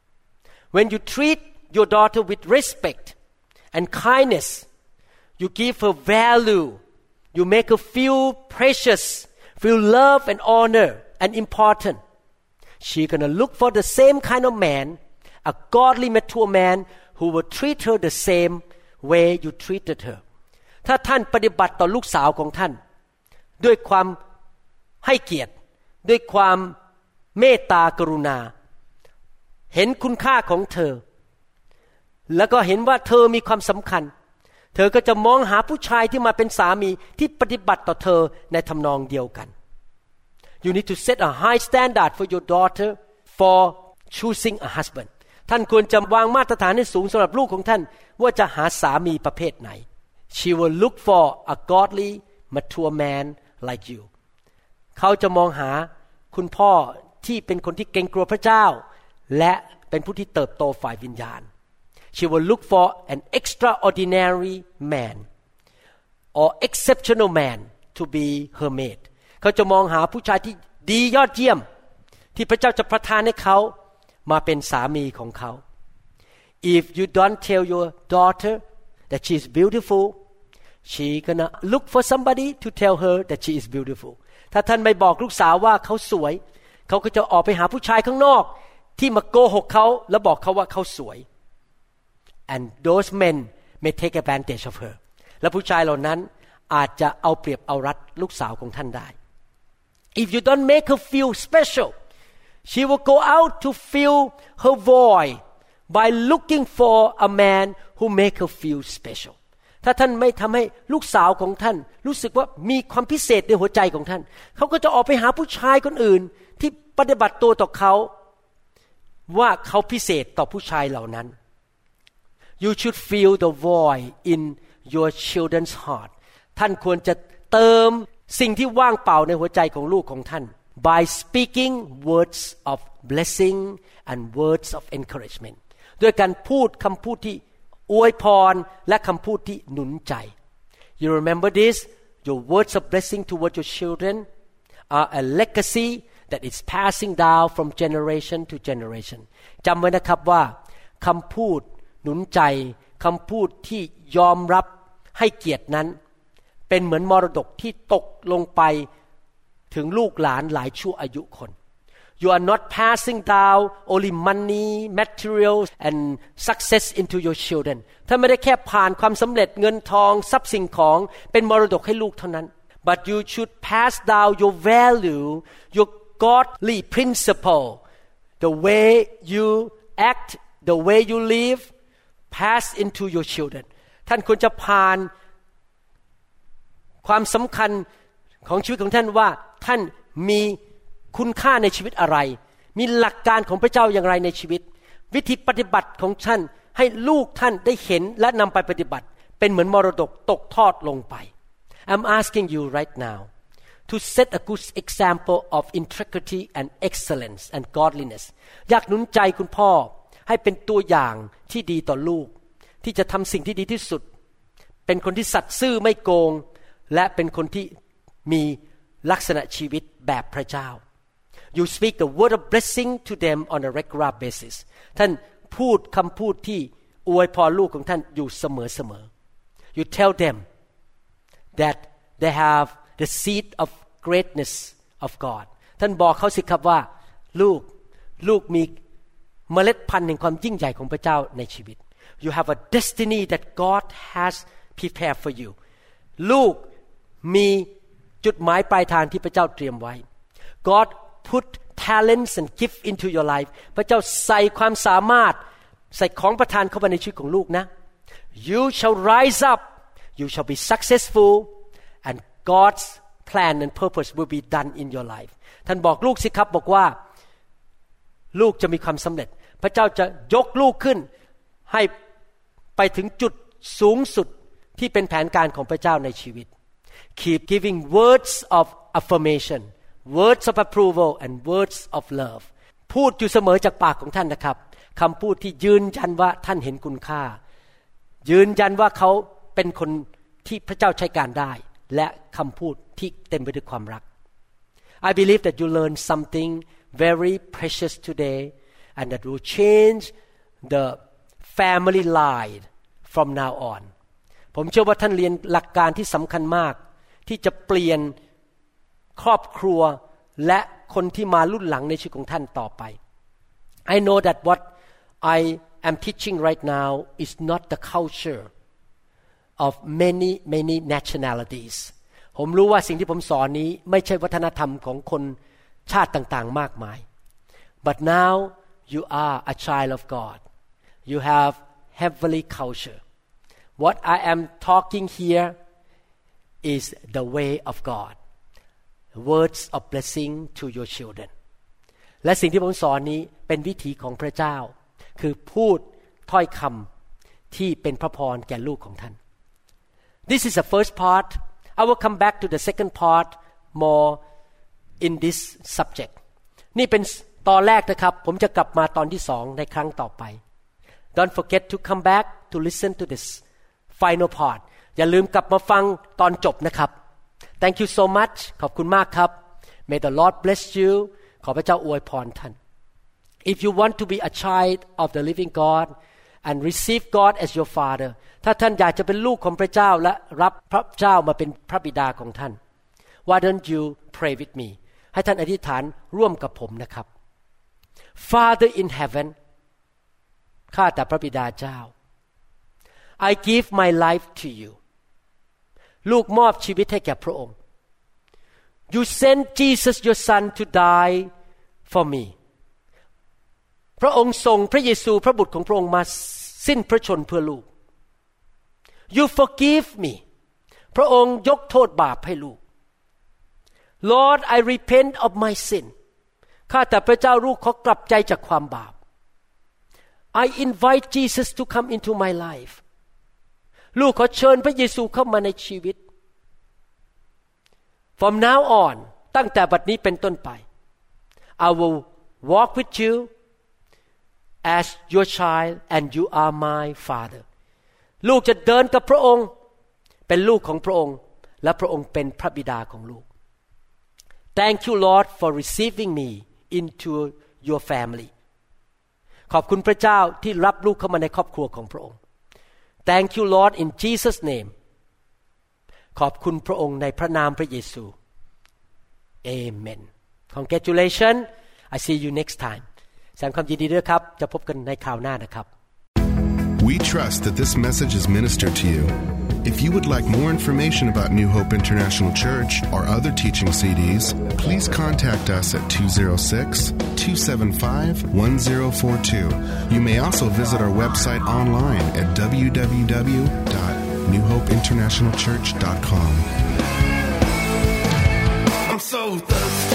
When you treat your daughter with respect and kindness, you give her value, you make her feel precious, feel love and honor and important. She's gonna look for the same kind of man, a godly mature man who will treat her the same way you treated her. ถ้าท่านปฏิบัติต่อลูกสาวของท่านด้วยความให้เกียรติด้วยความเมตตากรุณาเห็นคุณค่าของเธอแล้วก็เห็นว่าเธอมีความสำคัญเธอก็จะมองหาผู้ชายที่มาเป็นสามีที่ปฏิบัติต่อเธอในทำนองเดียวกัน You need to set a high standard for your daughter for choosing a husband ท่านควรจะวางมาตรฐานให้สูงสำหรับลูกของท่านว่าจะหาสามีประเภทไหน She will look for a godly mature man like you เขาจะมองหาคุณพ่อที่เป็นคนที่เกรงกลัวพระเจ้าและเป็นผู้ที่เติบโตฝ่ายวิญญาณ She will look for an extraordinary man or exceptional man to be her mate เขาจะมองหาผู้ชายที่ดียอดเยี่ยมที่พระเจ้าจะประทานให้เขามาเป็นสามีของเขา If you don't tell your daughter that she is beautiful, she gonna look for somebody to tell her that she is beautiful. ถ้าท่านไม่บอกลูกสาวว่าเขาสวยเขาก็จะออกไปหาผู้ชายข้างนอกที่มาโกหกเขาแล้วบอกเขาว่าเขาสวย And those men may take advantage of her. และผู้ชายเหล่านั้นอาจจะเอาเปรียบเอารัดลูกสาวของท่านได้ If you don't make her feel special, she will go out to fill her void by looking for a man who make her feel special. ถ้าท่านไม่ทำให้ลูกสาวของท่านรู้สึกว่ามีความพิเศษในหัวใจของท่านเขาก็จะออกไปหาผู้ชายคนอื่นที่ปฏิบัติตัวต่อเขาว่าเขาพิเศษต่อผู้ชายเหล่านั้น You should fill the void in your children's heart ท่านควรจะเติมสิ่งที่ว่างเปล่าในหัวใจของลูกของท่าน by speaking words of blessing and words of encouragement ด้วยการพูดคำพูดที่อวยพรและคำพูดที่หนุนใจ You remember this? Your words of blessing toward your children are a legacy that is passing down from generation to generation จำไว้นะครับว่าคำพูดหนุนใจคำพูดที่ยอมรับให้เกียรตินั้นเป็นเหมือนมรดกที่ตกลงไปถึงลูกหลานหลายชั่วอายุคน You are not passing down only money, materials and success into your children ท่านไม่ได้แค่ผ่านความสำเร็จเงินทองทรัพย์สิ่งของเป็นมรดกให้ลูกเท่านั้น But you should pass down your value, your godly principle, the way you act, the way you live, pass into your children ท่านควรจะผ่านความสำคัญของชีวิตของท่านว่าท่านมีคุณค่าในชีวิตอะไรมีหลักการของพระเจ้าอย่างไรในชีวิตวิธีปฏิบัติของท่านให้ลูกท่านได้เห็นและนำไปปฏิบัติเป็นเหมือนมรดกตกทอดลงไป I'm asking you right now to set a good example of integrity and excellence and godliness อยากหนุนใจคุณพ่อให้เป็นตัวอย่างที่ดีต่อลูกที่จะทำสิ่งที่ดีที่สุดเป็นคนที่สัตย์ซื่อไม่โกงและเป็นคนที่มีลักษณะชีวิตแบบพระเจ้า You speak the word of blessing to them on a regular basis ท่านพูดคำพูดที่อวยพรลูกของท่านอยู่เสมอ You tell them that they have the seed of greatness of God ท่านบอกเขาสิครับว่าลูกมีเมล็ดพันธุ์แห่งความยิ่งใหญ่ของพระเจ้าในชีวิต You have a destiny that God has prepared for you ลูกมีจุดหมายปลายทางที่พระเจ้าเตรียมไว้ God put talents and gift into your life พระเจ้าใส่ความสามารถใส่ของประทานเข้าไปในชีวิตของลูกนะ You shall rise up you shall be successful and God's plan and purpose will be done in your life ท่านบอกลูกสิครับบอกว่าลูกจะมีความสำเร็จพระเจ้าจะยกลูกขึ้นให้ไปถึงจุดสูงสุดที่เป็นแผนการของพระเจ้าในชีวิต Keep giving words of affirmation words of approval and words of love พูดอยู่เสมอจากปากของท่านนะครับคำพูดที่ยืนยันว่าท่านเห็นคุณค่ายืนยันว่าเขาเป็นคนที่พระเจ้าใช้การได้และคำพูดที่เต็มไปด้วยความรัก I believe that you learn something very precious today and that will change the family line from now on ผมเชื่อว่าท่านเรียนหลักการที่สำคัญมากที่จะเปลี่ยนครอบครัวและคนที่มารุ่นหลังในชีวิตของท่านต่อไป I know that what I am teaching right now is not the culture of many nationalities ผมรู้ว่าสิ่งที่ผมสอนนี้ไม่ใช่วัฒนธรรมของคนชาติต่างๆมากมาย but now you are a child of God you have heavenly culture what I am talking here is the way of God words of blessing to your children และสิ่งที่ผมสอนนี้เป็นวิถีของพระเจ้าคือพูดถ้อยคำที่เป็นพระพรแก่ลูกของท่าน This is the first part I will come back to the second part more in this subject นี่เป็นตอนแรกนะครับผมจะกลับมาตอนที่2ในครั้งต่อไป Don't forget to come back to listen to this final part อย่าลืมกลับมาฟังตอนจบนะครับ Thank you so much ขอบคุณมากครับ May the Lord bless you ขอพระเจ้าอวยพรท่าน If you want to be a child of the living God and receive God as your father ถ้าท่านอยากจะเป็นลูกของพระเจ้าและรับพระเจ้ามาเป็นพระบิดาของท่าน Why don't you pray with me ให้ท่านอธิษฐานร่วมกับผมนะครับ Father in heaven ข้าแต่พระบิดาเจ้า I give my life to you ลูกมอบชีวิตให้แก่พระองค์ You sent Jesus your son to die for me พระองค์ส่งพระเยซูพระบุตรของพระองค์มาสิ้นพระชนเพื่อลูก You forgive me พระองค์ยกโทษบาปให้ลูก Lord I repent of my sin ข้าแต่พระเจ้าลูกขอกลับใจจากความบาป I invite Jesus to come into my life ลูกขอเชิญพระเยซูเข้ามาในชีวิต From now on ตั้งแต่บัดนี้เป็นต้นไป I will walk with you as your child and you are my father ลูกจะเดินกับพระองค์เป็นลูกของพระองค์และพระองค์เป็นพระบิดาของลูก Thank you Lord for receiving me into your family ขอบคุณพระเจ้าที่รับลูกเข้ามาในครอบครัวของพระองค์ Thank you Lord in Jesus name ขอบคุณพระองค์ในพระนามพระเยซู Amen Congratulations I see you next time แสดงความยินดีด้วยครับจะพบกันในคราวหน้านะครับ We trust that this message is ministered to you. If you would like more information about New Hope International Church or other teaching CDs, please contact us at 206-275-1042. You may also visit our website online at www.newhopeinternationalchurch.com. I'm so thirsty.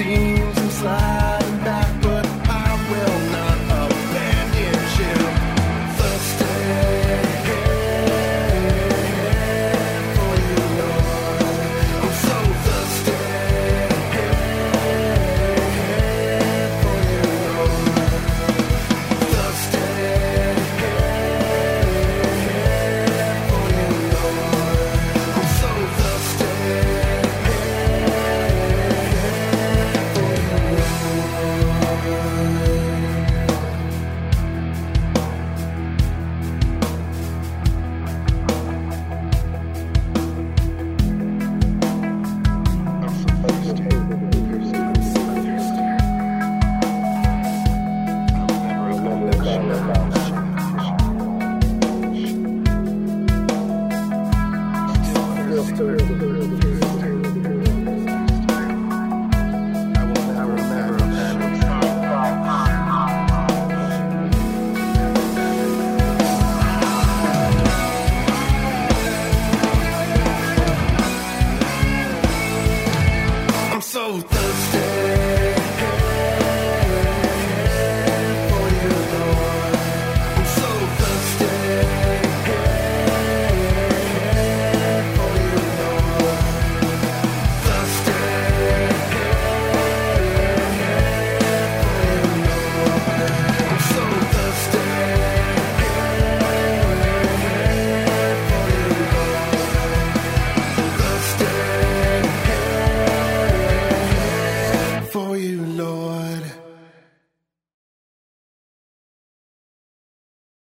seems inside